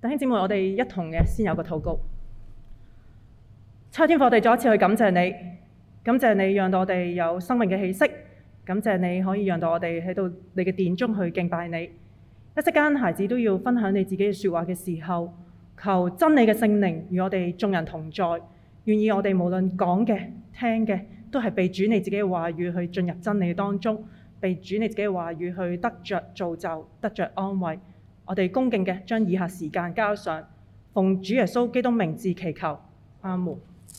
弟兄姊妹，我哋一同嘅先有個禱告。天父，我哋再一次去感謝你，感謝你讓到我哋有生命嘅氣息，感謝你可以讓到我哋喺到你嘅殿中去敬拜你。一息間，孩子都要分享你自己嘅說話嘅時候，求真理嘅聖靈與我哋眾人同在，願意我哋無論講嘅、聽嘅，都係被主你自己嘅話語去進入真理當中，被主你自己嘅話語去得着造就，得着安慰。我哋恭敬嘅將以下時間交上，奉主耶穌基督名字祈求，阿門。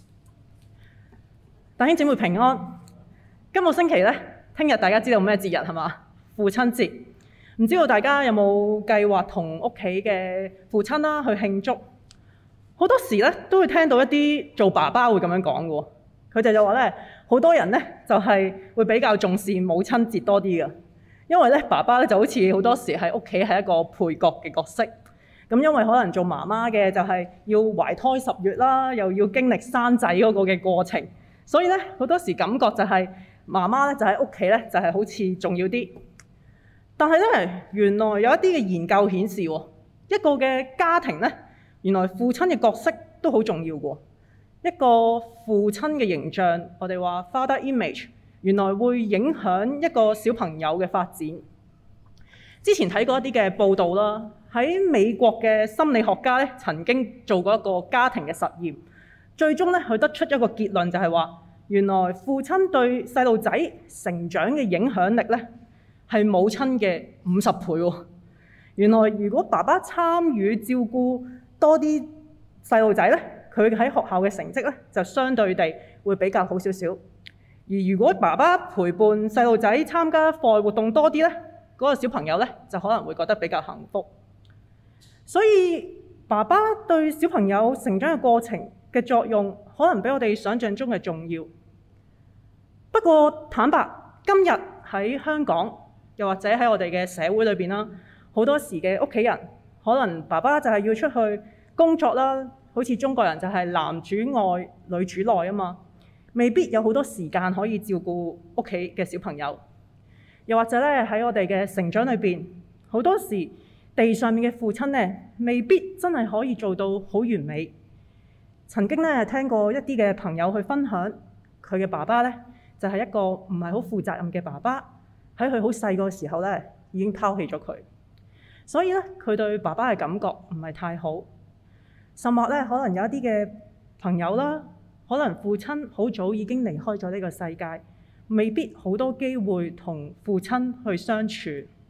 弟兄姊妹平安。今個星期呢，聽日大家知道咩節日係嘛？父親節。唔知道大家有冇計劃同屋企嘅父親啦去慶祝？好多時呢，都會聽到一啲做爸爸會咁樣講嘅。佢哋就話呢，好多人呢，就係會比較重視母親節多啲嘅。因為咧，爸爸咧就好似好多時喺屋企係一個配角嘅角色。咁因為可能做媽媽嘅就係要懷胎10月啦，又要經歷生仔嗰個嘅過程，所以咧好多時感覺就係媽媽咧就喺屋企咧就係好似重要啲。但係咧，原來有一啲嘅研究顯示，一個嘅家庭咧，原來父親嘅角色都好重要嘅。一個父親嘅形象，我哋話 father image。原來會影響一個小朋友嘅發展。之前睇過一啲嘅報道啦，喺美國嘅心理學家咧曾經做過一個家庭嘅實驗，最終咧佢得出一個結論，就係話原來父親對細路仔成長嘅影響力咧係母親嘅50倍喎。原來如果爸爸參與照顧多啲細路仔咧，佢喺學校嘅成績咧就相對地會比較好少少。而如果爸爸陪伴細路仔參加課外活動多啲呢，嗰個小朋友呢就可能會覺得比較幸福。所以爸爸對小朋友成長嘅過程嘅作用，可能比我哋想象中嘅重要。不過坦白，今日喺香港，又或者喺我哋嘅社會裏邊啦，好多時嘅屋企人，可能爸爸就係要出去工作啦，好似中國人就係男主外女主內啊嘛。未必有好多時間可以照顧屋企嘅小朋友，又或者咧喺我哋嘅成長裏邊，好多時地上面嘅父親咧，未必真係可以做到好完美。曾經咧聽過一啲嘅朋友去分享，佢嘅爸爸咧就係一個唔係好負責任嘅爸爸，喺佢好細個時候咧已經拋棄咗佢，所以咧佢對爸爸嘅感覺唔係太好。甚或咧可能有一啲嘅朋友啦。可能父親好早已經離開咗呢個世界，未必好多機會同父親去相處。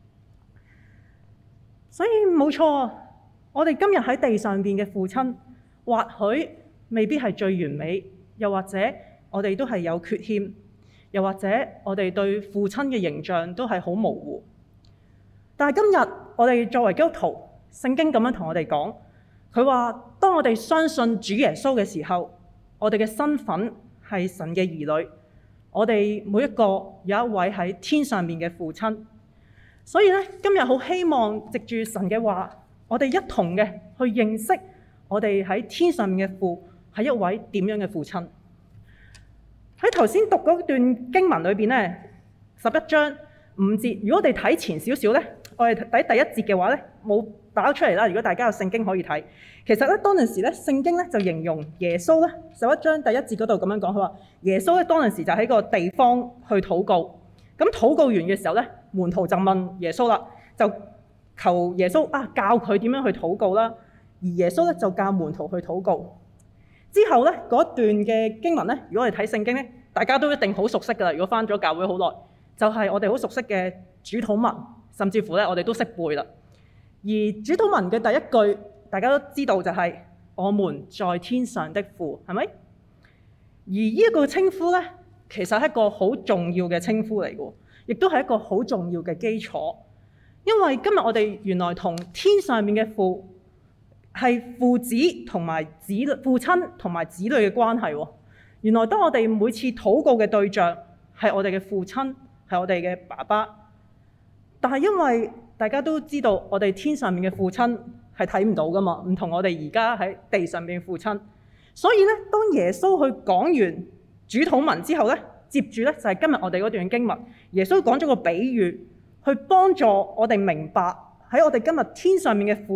所以冇錯，我哋今日喺地上邊嘅父親，或許未必係最完美，又或者我哋都係有缺陷，又或者我哋對父親嘅形象都係好模糊。但係今日我哋作為基督徒，聖經咁樣同我哋講，佢話當我哋相信主耶穌嘅時候，我哋嘅身份係神嘅兒女，我哋每一個有一位喺天上面嘅父親，所以咧今日好希望藉住神嘅話，我哋一同嘅去認識我哋喺天上面嘅父係一位點樣嘅父親。喺頭先讀嗰段經文裏邊咧，11章5節，如果我哋睇前少少咧，我哋睇第一節嘅話咧，冇打出嚟啦。如果大家有聖經可以睇，其實咧當陣時咧聖經咧就形容耶穌咧11章第一節嗰度咁樣講，佢話耶穌咧當陣時就喺個地方去禱告，咁禱告完嘅時候咧，門徒就問耶穌啦，就求耶穌教佢點樣去禱告啦，而耶穌咧就教門徒去禱告。之後咧嗰段嘅經文咧，如果我哋睇聖經咧，大家都一定好熟悉㗎啦。如果返咗教會好耐，就係我哋好熟悉嘅主禱文，甚至乎咧我哋都識背啦。而主禱文嘅第一句，大家都知道就係我們在天上的父，係咪？而呢一個稱呼咧，其實係一個好重要嘅稱呼嚟嘅，亦都係一個好重要嘅基礎。因為今日我哋原來同天上面嘅父係父子同埋子女、父親同埋子女嘅關係喎。原來當我哋每次禱告嘅對象係我哋嘅父親，係我哋嘅爸爸，但係因為大家都知道，我哋天上面嘅父親係睇唔到噶嘛，唔同我哋而家喺地上面嘅父親。所以咧，當耶穌去講完主禱文之後咧，接住咧就係今日我哋嗰段經文，耶穌講咗個比喻，去幫助我哋明白喺我哋今日天上面嘅父咧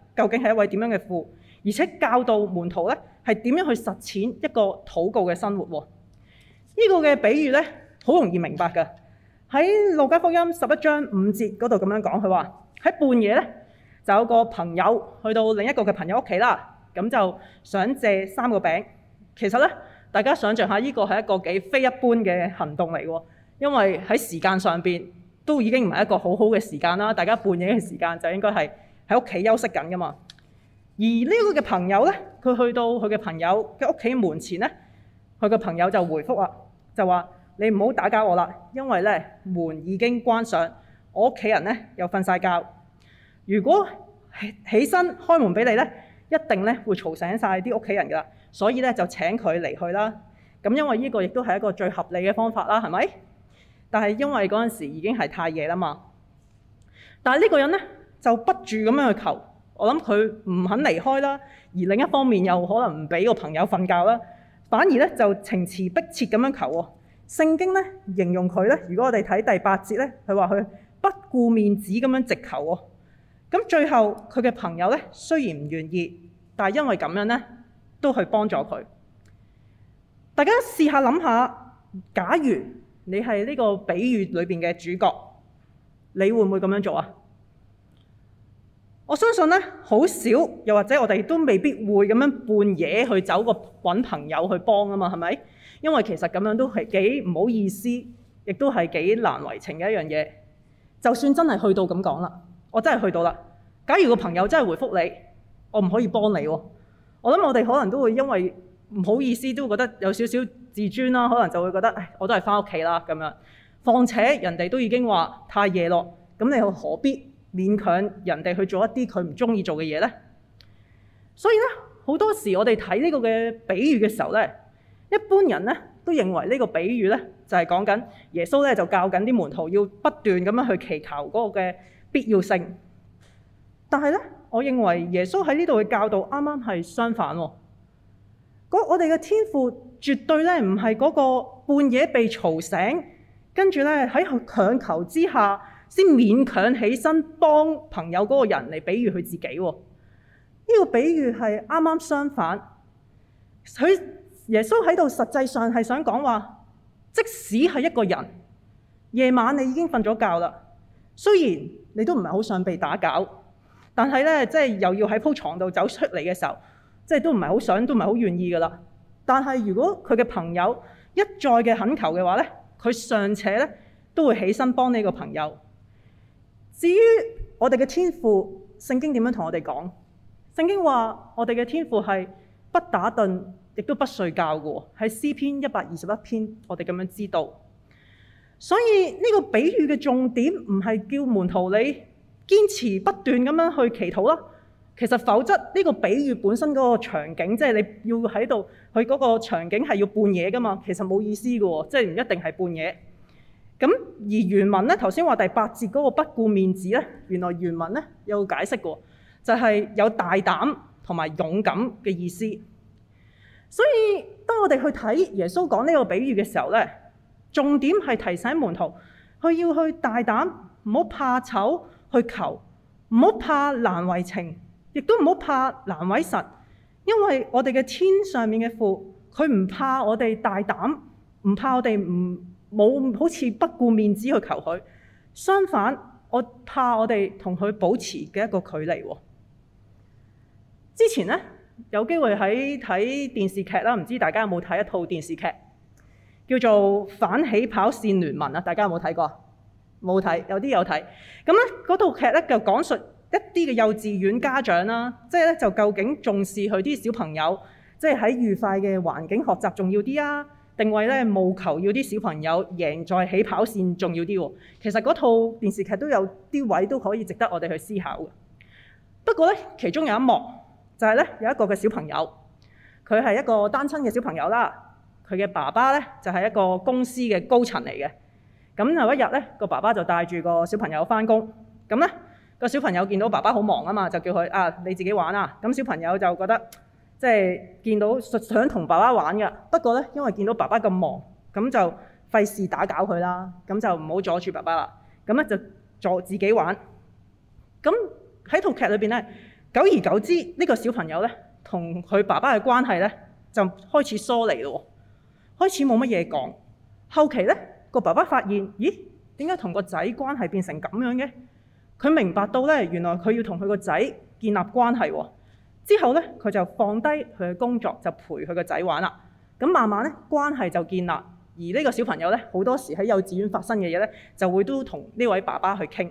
究竟係一位點樣嘅父，而且教導門徒咧係點樣去實踐一個禱告嘅生活喎。呢個嘅比喻咧好容易明白㗎。喺路加福音11章5節嗰度咁樣講，佢話喺半夜咧就有個朋友去到另一個嘅朋友屋企啦，咁就想借3個餅。其實咧，大家想象下，呢個係一個幾非一般嘅行動嚟喎，因為喺時間上邊都已經唔係一個好好嘅時間啦。大家半夜嘅時間就應該係喺屋企休息緊㗎嘛。而呢個嘅朋友咧，佢去到佢嘅朋友嘅屋企門前咧，佢嘅朋友就回覆啦，就話：你唔好打攪我啦，因為咧門已經關上，我屋企人咧又瞓晒覺。如果起身開門俾你咧，一定咧會嘈醒晒啲屋企人㗎啦。所以咧就請佢離去啦。咁因為呢個亦都係一個最合理嘅方法啦，係咪？但係因為嗰陣時已經係太夜啦嘛。但係呢個人咧就不住咁樣去求。我諗佢唔肯離開啦，而另一方面又可能唔俾個朋友瞓覺啦，反而咧就情詞迫切咁樣求喎。聖經咧形容佢咧，如果我哋睇第8節咧，佢話佢不顧面子咁樣直求喎。咁最後佢嘅朋友咧雖然唔願意，但係因為咁樣咧都去幫助佢。大家試下諗下，假如你係呢個比喻裏邊嘅主角，你會唔會咁樣做啊？我相信咧，好少，又或者我哋都未必會咁樣半夜去找個揾朋友去幫啊嘛，係咪？因為其實咁樣都係幾唔好意思，亦都係幾難為情嘅一樣嘢。就算真係去到咁講啦，我真係去到啦。假如個朋友真係回覆你，我唔可以幫你喎。我諗我哋可能都會因為唔好意思，都會覺得有少少自尊啦，可能就會覺得，唉，我都係返屋企啦咁樣。況且人哋都已經話太夜咯，咁你又何必勉強人哋去做一啲佢唔中意做嘅嘢呢？所以咧，好多時我哋睇呢個嘅比喻嘅時候咧，一般人咧都認為呢個比喻咧就係講緊耶穌咧就教緊啲門徒要不斷咁樣去祈求嗰個嘅必要性。但係咧，我認為耶穌喺呢度嘅教導啱啱係相反喎。我哋嘅天父絕對咧唔係嗰個半夜被嘈醒，跟住咧喺強求之下先勉強起身幫朋友嗰個人嚟比喻佢自己喎。呢個比喻係啱啱相反。耶穌喺度實際上係想講話，即使係一個人夜晚你已經瞓咗覺啦，雖然你都唔係好想被打攪，但係咧即係又要喺鋪床度走出嚟嘅時候，即係都唔係好想，都唔係好願意噶啦。但係如果佢嘅朋友一再嘅懇求嘅話咧，佢尚且咧都會起身幫呢個朋友。至於我哋嘅天父，聖經點樣同我哋講？聖經話我哋嘅天父係不打盹，亦都不睡覺嘅喎。喺詩篇121篇，我哋咁樣知道。所以呢個比喻嘅重點唔係叫門徒你堅持不斷咁樣去祈禱啦。其實否則呢個比喻本身嗰個場景，即係你要喺度，佢嗰個場景係要半夜噶嘛，其實冇意思嘅喎，即係唔一定係半夜。咁而原文咧，頭先話第8節嗰個不顧面子咧，原來原文咧有解釋過，就係有大膽同埋勇敢嘅意思。所以當我哋去睇耶穌講呢個比喻嘅時候咧，重點係提醒門徒，佢要去大膽，唔好怕醜去求，唔好怕難為情，亦都唔好怕難為神，因為我哋嘅天上面嘅父，佢唔怕我哋大膽，唔怕我哋冇好似不顧面子去求佢。相反，我怕我哋同佢保持嘅一個距離。之前咧有機會喺睇電視劇啦，唔知大家有冇睇一套電視劇叫做《反起跑線聯盟》啊？大家有冇睇過？冇睇，有啲有睇。咁咧嗰套劇咧就講述一啲嘅幼稚園家長啦，即係咧就究竟重視佢啲小朋友，即係喺愉快嘅環境學習重要啲啊，定為咧務求要啲小朋友贏在起跑線重要啲喎？其實嗰套電視劇都有啲位都可以值得我哋去思考嘅。不過咧，其中有一幕就係咧有一個嘅小朋友，佢係一個單親嘅小朋友啦。佢嘅爸爸咧就係一個公司嘅高層嚟嘅。咁有一日咧，個爸爸就帶住個小朋友返工。咁咧個小朋友見到爸爸好忙啊嘛，就叫佢你自己玩啊。咁小朋友就覺得即係見到想同爸爸玩嘅，不過咧因為見到爸爸咁忙，咁就費事打攪佢啦。咁就唔好阻住爸爸啦。咁咧就自己玩。咁喺套劇裏邊咧， 久而久之，呢個小朋友咧同佢爸爸嘅關係咧就開始疏離咯，開始冇乜嘢講。後期咧個爸爸發現，咦，點解同個仔關係變成咁樣嘅？佢明白到咧，原來佢要同佢個仔建立關係喎。之後咧，佢就放低佢嘅工作，就陪佢個仔玩啦。咁慢慢咧，關係就建立。而呢個小朋友咧，好多時喺幼稚園發生嘅嘢咧，就會都同呢位爸爸去傾。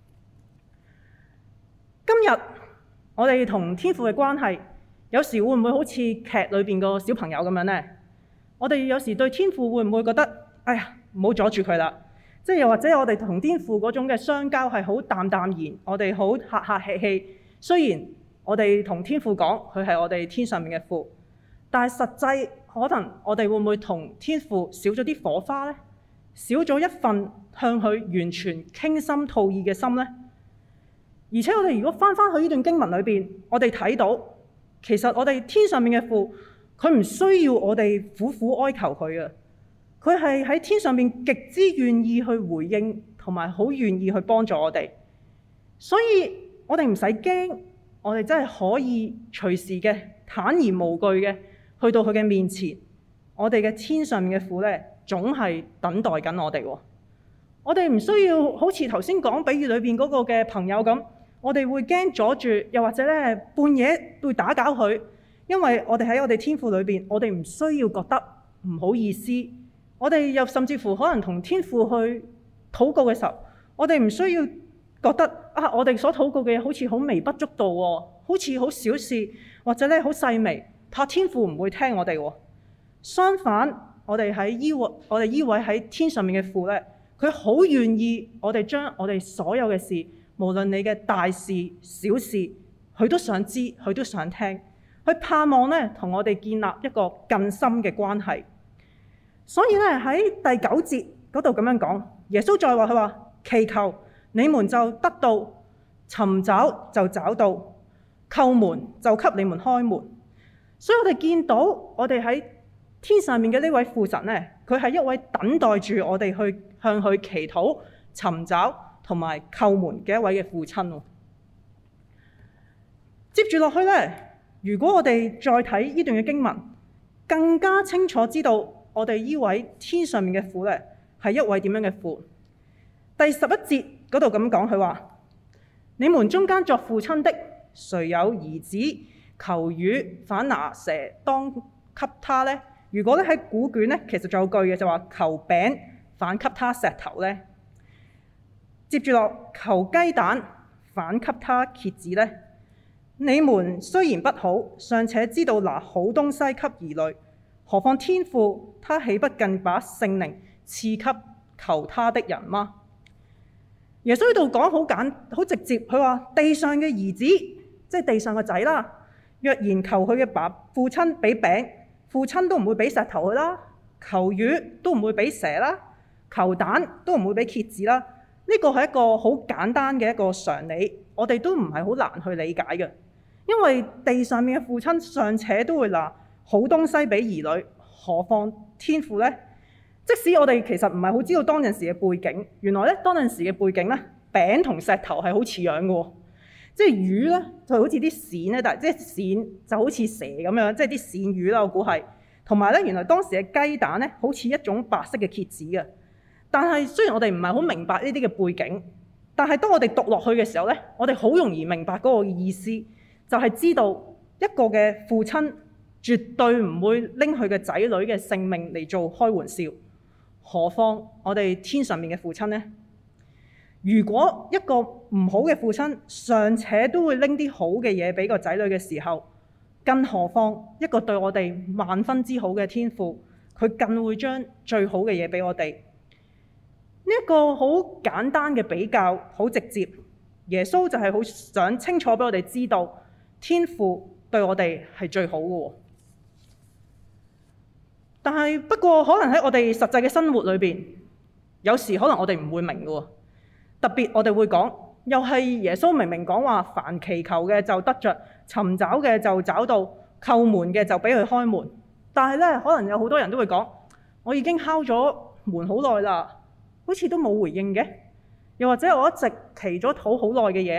今日我哋同天父嘅關係，有時會唔會好似劇裏邊個小朋友咁樣呢？我哋有時對天父會唔會覺得，哎呀，唔好阻住佢啦？即係又或者我哋同天父嗰種嘅相交係好淡淡然，我哋好客客氣氣。雖然我哋同天父講佢係我哋天上面嘅父，但係實際可能我哋會唔會同天父少咗啲火花呢？少咗一份向佢完全傾心吐意嘅心呢？而且我哋如果翻去呢段經文裏邊，我哋睇到其實我哋天上面嘅父，佢唔需要我哋苦苦哀求佢嘅，佢係喺天上面極之願意去回應，同埋好願意去幫助我哋。所以我哋唔使驚，我哋真係可以隨時嘅坦然無懼嘅去到佢嘅面前。我哋嘅天上面嘅父咧，總係等待緊我哋喎。我哋唔需要好似頭先講比喻裏邊嗰個嘅朋友咁，我哋會驚阻住，又或者咧半夜會打攪佢。因為我哋喺我哋天父裏邊，我哋唔需要覺得唔好意思。我哋又甚至乎可能同天父去禱告嘅時候，我哋唔需要覺得啊，我哋所禱告嘅嘢好似好微不足道喎，好似好小事，或者咧好細微，怕天父唔會聽我哋喎。相反，我哋依位喺天上面嘅父咧，佢好願意我哋將我哋所有嘅事，無論你嘅大事小事，佢都想知，佢都想聽。佢盼望咧同我哋建立一個更深嘅關係。所以咧喺第9節嗰度咁樣講，耶穌再話佢話：祈求你們就得到，尋找就找到，叩門就給你們開門。所以我哋見到我哋喺天上面嘅呢位父神咧，佢係一位等待住我哋去向佢祈禱、尋找同埋叩門嘅一位嘅父親。接住落去咧。如果我哋再睇呢段嘅經文，更加清楚知道我哋呢位天上面嘅父咧係一位點樣嘅父。第11節嗰度咁講，佢話：你們中間作父親的，誰有兒子求魚，反拿蛇當給他呢？如果咧喺古卷咧，其實仲有句嘅就話：求餅，反給他石頭呢？接住落，求雞蛋，反給他蠍子呢？你們雖然不好，尚且知道拿好東西給兒女，何況天父，他豈不更把聖靈賜給求他的人嗎？耶穌喺度講好直接，佢話地上嘅兒子，即係地上嘅仔啦，若然求佢嘅父親俾餅，父親都唔會俾石頭佢啦；求魚都唔會俾蛇啦；求蛋都唔會俾蠍子啦。呢個係一個好簡單嘅一個常理，我哋都唔係好難去理解嘅。因為地上面嘅父親尚且都會拿好東西俾兒女，何況天父呢？即使我哋其實唔係好知道當陣時嘅背景，原來咧當陣時嘅背景咧，餅同石頭係好似樣嘅喎。即係魚咧就好似啲鱔咧，但係即係鱔就好似蛇咁樣，即係啲鱔魚啦，我估係。同埋咧，原來當時嘅雞蛋咧好似一種白色嘅蠍子嘅。但係雖然我哋唔係好明白呢啲嘅背景，但係當我哋讀落去嘅時候咧，我哋好容易明白嗰個意思。就係知道一個嘅父親絕對唔會拎佢嘅仔女嘅性命嚟做開玩笑，何況我哋天上面嘅父親呢？如果一個唔好嘅父親尚且都會拎啲好嘅嘢俾個仔女嘅時候，更何況一個對我哋萬分之好嘅天父，佢更會將最好嘅嘢俾我哋。呢一個好簡單嘅比較，好直接。耶穌就係好想清楚俾我哋知道。天父對我哋係最好嘅，但係不過可能喺我哋實際嘅生活裏邊，有時可能我哋唔會明嘅。特別我哋會講，又係耶穌明明講話，凡祈求嘅就得着，尋找嘅就找到，叩門嘅就俾佢開門。但係咧，可能有好多人都會講，我已經敲咗門好耐啦，好似都冇回應嘅。又或者我一直祈咗禱好耐嘅嘢，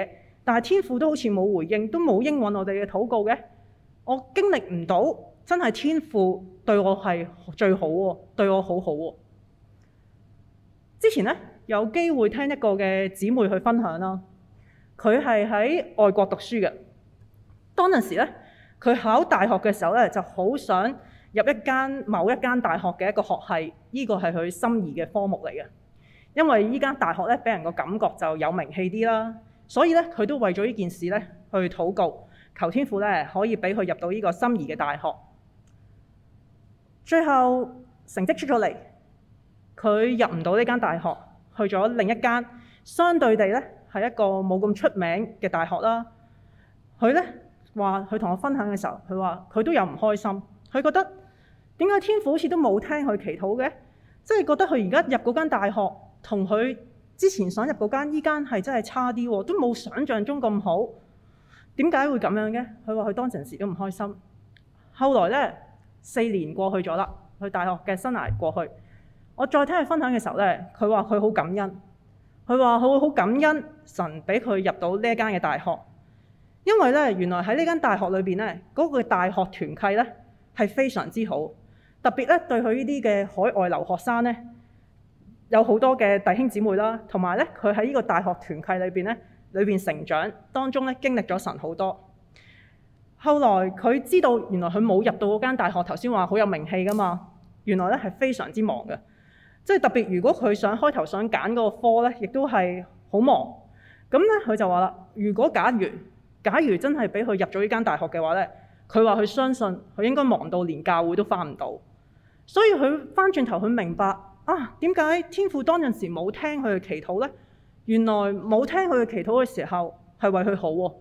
但係天父都好似冇回應，都冇應允我哋嘅禱告嘅。我經歷唔到真係天父對我係最好喎，對我好好喎。之前咧有機會聽一個嘅姊妹去分享啦，佢係喺外國讀書嘅。當陣時咧，佢考大學嘅時候咧，就好想入某一間大學嘅一個學系，呢個係佢心儀嘅科目嚟嘅。因為依間大學咧，俾人個感覺就有名氣啲啦，所以咧佢都為咗呢件事咧去禱告，求天父咧可以俾佢入到呢個心儀嘅大學。最後成績出咗嚟，佢入唔到呢間大學，去咗另一間相對地咧係一個冇咁出名嘅大學啦。佢咧話佢同我分享嘅時候，佢話佢都有唔開心，佢覺得點解天父好似都冇聽佢祈禱嘅，即係覺得佢而家入嗰間大學同佢之前想入嗰間依間係真係差啲喎，都冇想像中咁好。點解會咁樣嘅？佢話佢當陣時都唔開心。後來咧4年過去咗啦，佢大學嘅生涯過去。我再聽佢分享嘅時候咧，佢話佢好感恩，佢話佢好感恩神俾佢入到呢一間嘅大學，因為咧原來喺呢間大學裏邊咧嗰個大學團契咧係非常之好，特別咧對佢呢啲嘅海外留學生咧有好多嘅弟兄姊妹啦，同埋咧佢喺呢個大學團契裏邊成長當中咧經歷咗神好多。後來佢知道原來佢冇入到嗰間大學，頭先話好有名氣噶嘛，原來咧係非常之忙嘅。即係特別，如果佢開頭想揀嗰個科咧，亦都係好忙。咁咧，佢就話啦：如果假如真係俾佢入咗呢間大學嘅話咧，佢話佢相信佢應該忙到連教會都返唔到。所以佢返轉頭，佢明白啊，點解天父當陣時冇聽佢嘅祈禱咧？原來冇聽佢嘅祈禱嘅時候係為佢好喎。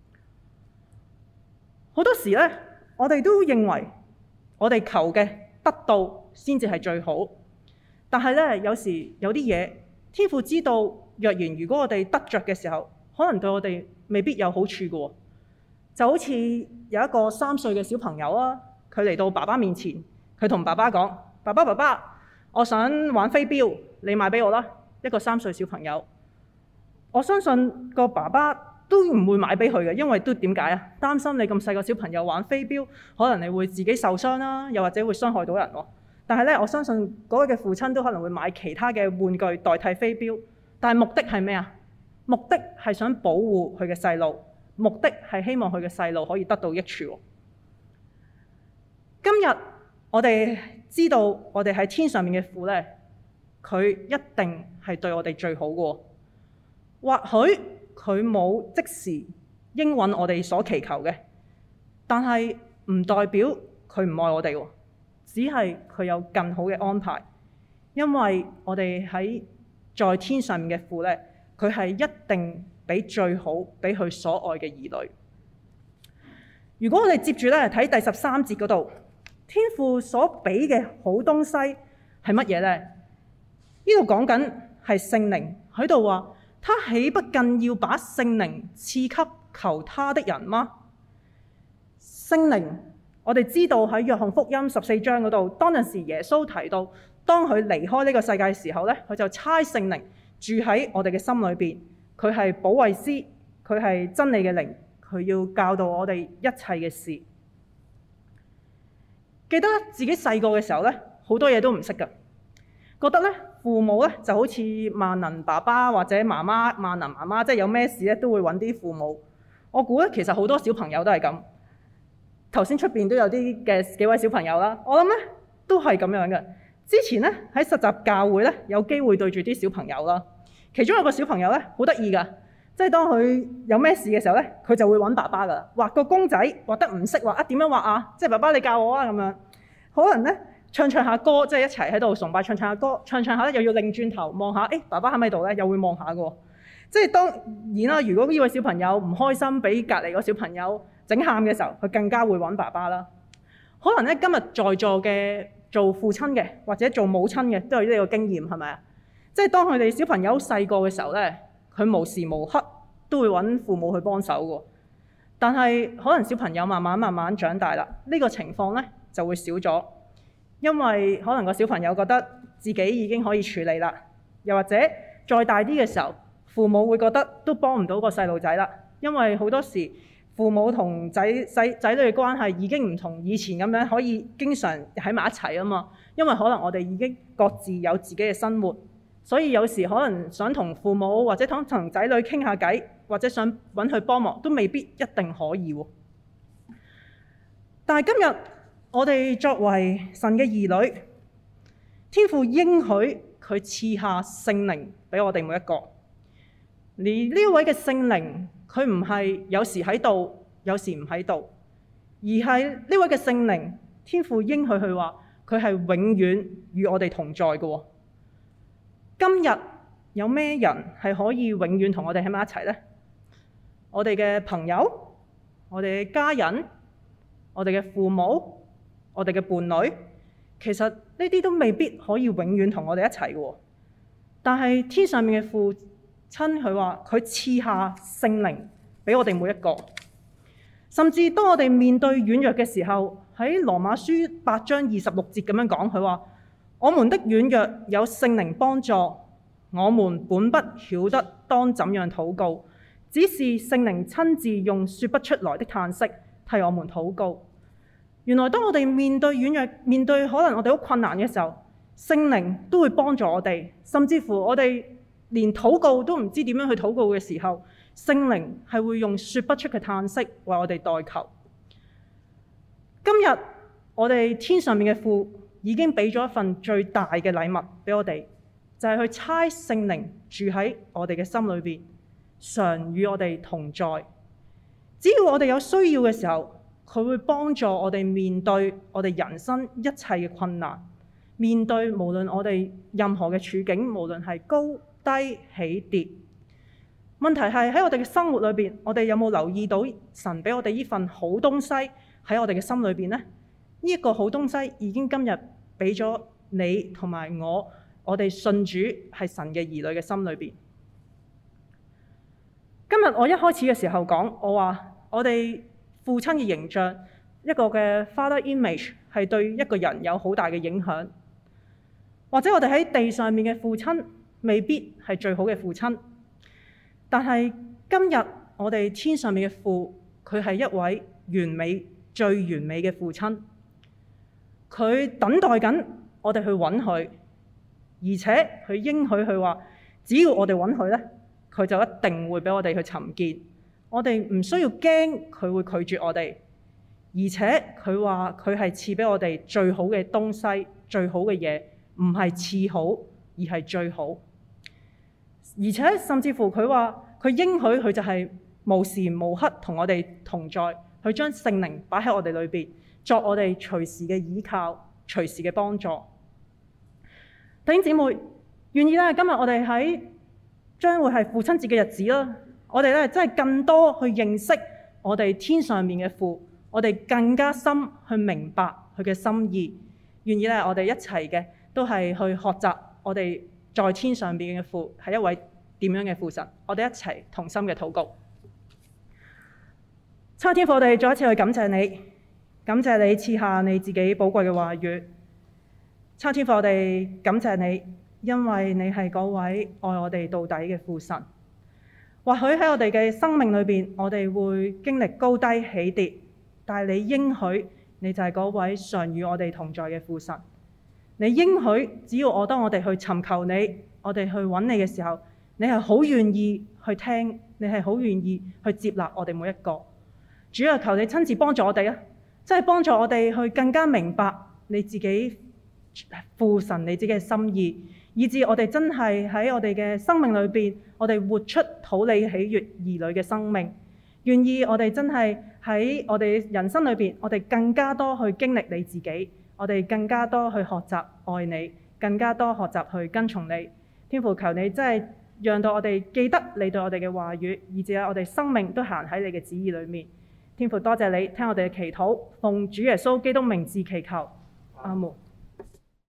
好多時咧，我哋都認為我哋求嘅得到先至係最好。但係咧，有時有啲嘢，天父知道，若然如果我哋得着嘅時候，可能對我哋未必有好處嘅喎。就好似有一個3歲嘅小朋友啊，佢嚟到爸爸面前，佢同爸爸講：爸爸，我想玩飛鏢，你買俾我啦。一個3歲小朋友，我相信個爸爸都唔會買俾佢嘅，因為都點解啊？擔心你咁細個小朋友玩飛鏢，可能你會自己受傷啦，又或者會傷害到人喎。但係咧，我相信嗰位嘅父親都可能會買其他嘅玩具代替飛鏢，但係目的係咩啊？目的係想保護佢嘅細路，目的係希望佢嘅細路可以得到益處。今日我哋知道我哋喺天上面嘅父咧，佢一定係對我哋最好嘅。或許佢冇即時應允我哋所祈求嘅，但係唔代表佢唔愛我哋喎。只係佢有更好嘅安排，因為我哋在天上面嘅父咧，佢係一定俾最好俾佢所愛嘅兒女。如果我哋接住咧睇第13節嗰度，天父所俾嘅好東西係乜嘢咧？呢度講緊係聖靈，喺度話，他豈不更要把聖靈賜給求他的人嗎？聖靈。我哋知道喺約翰福音14章嗰度，當陣時耶穌提到，當佢離開呢個世界嘅時候咧，佢就差聖靈住喺我哋嘅心裏邊。佢係保惠師，佢係真理嘅靈，佢要教導我哋一切嘅事。記得自己細個嘅時候咧，好多嘢都唔識㗎，覺得咧父母咧就好似萬能爸爸或者媽媽萬能媽媽，即係有咩事咧都會揾啲父母。我估咧其實好多小朋友都係咁。頭先出邊都有啲嘅幾位小朋友啦，我諗咧都係咁樣嘅。之前咧喺實習教會咧有機會對住啲小朋友啦，其中有個小朋友咧好得意㗎，即係當佢有咩事嘅時候咧，佢就會揾爸爸㗎啦，畫個公仔畫得唔識畫啊，點樣畫啊？即係爸爸你教我啊咁樣。可能咧唱下歌，即係一齊喺度崇拜唱下歌，唱下咧又要擰轉頭望下，爸爸喺咪度咧？又會望下㗎。即係當然啦，如果呢位小朋友唔開心，俾隔離個小朋友整喊嘅時候，佢更加會揾爸爸啦。可能咧今日在座嘅做父親嘅或者做母親嘅都有呢個經驗，係咪啊？即係當佢哋小朋友細個嘅時候咧，佢無時無刻都會揾父母去幫手嘅。但係可能小朋友慢慢長大啦，呢個情況咧就會少咗，因為可能個小朋友覺得自己已經可以處理啦，又或者再大啲嘅時候，父母會覺得都幫唔到個細路仔啦， 因為好多時父母同仔女嘅關係已經唔同以前咁樣可以經常喺埋一齊啊嘛。因為可能我哋已經各自有自己嘅生活，所以有時可能想同父母或者同仔女傾下偈，或者想揾佢幫忙，都未必一定可以喎。但係今日我哋作為神嘅兒女，天父應許佢賜下聖靈俾我哋每一個。而呢位嘅聖靈，佢唔係有時喺度，有時唔喺度，而係呢位嘅聖靈，天父應許佢話佢係永遠與我哋同在嘅。今日有咩人係可以永遠同我哋喺埋一齊呢？我哋嘅朋友、我哋嘅家人、我哋嘅父母、我哋嘅伴侶，其實呢啲都未必可以永遠同我哋一齊嘅。但係天上面嘅父親，佢話佢賜下聖靈俾我哋每一個，甚至當我哋面對軟弱嘅時候，喺羅馬書8章26節咁樣講，佢話我們的軟弱有聖靈幫助，我們本不曉得當怎樣禱告，只是聖靈親自用說不出來的嘆息替我們禱告。原來當我哋面對軟弱，面對可能我哋好困難嘅時候，聖靈都會幫助我哋，甚至乎我哋連禱告都唔知點樣去禱告嘅時候，聖靈係會用說不出嘅嘆息為我哋代求。今日我哋天上面嘅父已經俾咗一份最大嘅禮物俾我哋，就係去差聖靈住喺我哋嘅心裏邊，常與我哋同在。只要我哋有需要嘅時候，佢會幫助我哋面對我哋人生一切嘅困難，面對無論我哋任何嘅處境，無論係高低起跌。問題係喺我哋嘅生活裏邊，我哋有冇留意到神俾我哋呢份好東西喺我哋嘅心裏邊呢？呢一個好東西已經今日俾咗你同埋我哋信主係神嘅兒女嘅心裏邊。今日我一開始嘅時候講，我話我哋父親嘅形象，一個嘅 father image 係對一個人有好大嘅影響。或者我哋喺地上面嘅父親未必係最好嘅父親，但係今日我哋天上面嘅父，佢係一位完美、最完美嘅父親。佢等待緊我哋去揾佢，而且佢應許佢話，只要我哋揾佢呢，佢就一定會俾我哋去尋見。我哋唔需要驚佢會拒絕我哋，而且佢話佢係賜俾我哋最好嘅東西、最好嘅嘢，唔係次好，而係最好。而且甚至乎佢話佢應許佢就係無時無刻同我哋同在，佢將聖靈擺喺我哋裏邊，作我哋隨時嘅依靠、隨時嘅幫助。弟兄姊妹，願意咧，今日我哋喺將會係父親節嘅日子啦，我哋咧真係更多去認識我哋天上面嘅父，我哋更加深去明白佢嘅心意。願意咧，我哋一齊嘅都係去學習我哋在天上邊嘅父係一位點樣嘅父神。我哋一齊同心嘅禱告。親愛天父，我哋再一次去感謝你，感謝你賜下你自己寶貴嘅話語。親愛天父，我哋感謝你，因為你係嗰位愛我哋到底嘅父神。或許喺我哋嘅生命裏邊，我哋會經歷高低起跌，但係你應許你就係嗰位常與我哋同在嘅父神。你應許只要當我哋去尋求你，我哋去揾你嘅時候，你係好願意去聽，你係好願意去接納我哋每一個。主啊，求你親自幫助我哋啊，真係幫助我哋去更加明白你自己父神你自己嘅心意，以致我哋真係喺我哋嘅生命裏邊，我哋活出討你喜悅兒女嘅生命。願意我哋真係喺我哋人生裏邊，我哋更加多去經歷你自己，我哋更加多去學習愛你，更加多學習去跟從你。天父，求你真係讓到我哋記得你對我哋嘅話語，以致我哋生命都行喺你嘅旨意裏面。天父，多謝你聽我哋嘅祈禱，奉主耶穌基督名字祈求，阿門。